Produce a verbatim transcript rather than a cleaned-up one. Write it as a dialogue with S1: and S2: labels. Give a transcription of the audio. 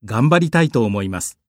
S1: 頑張りたいと思います。